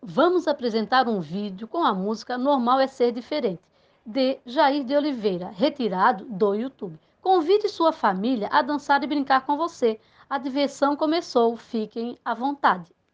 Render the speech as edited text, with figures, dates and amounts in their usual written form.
Vamos apresentar um vídeo com a música Normal é Ser Diferente, de Jair de Oliveira, retirado do YouTube. Convide sua família a dançar e brincar com você. A diversão começou, fiquem à vontade.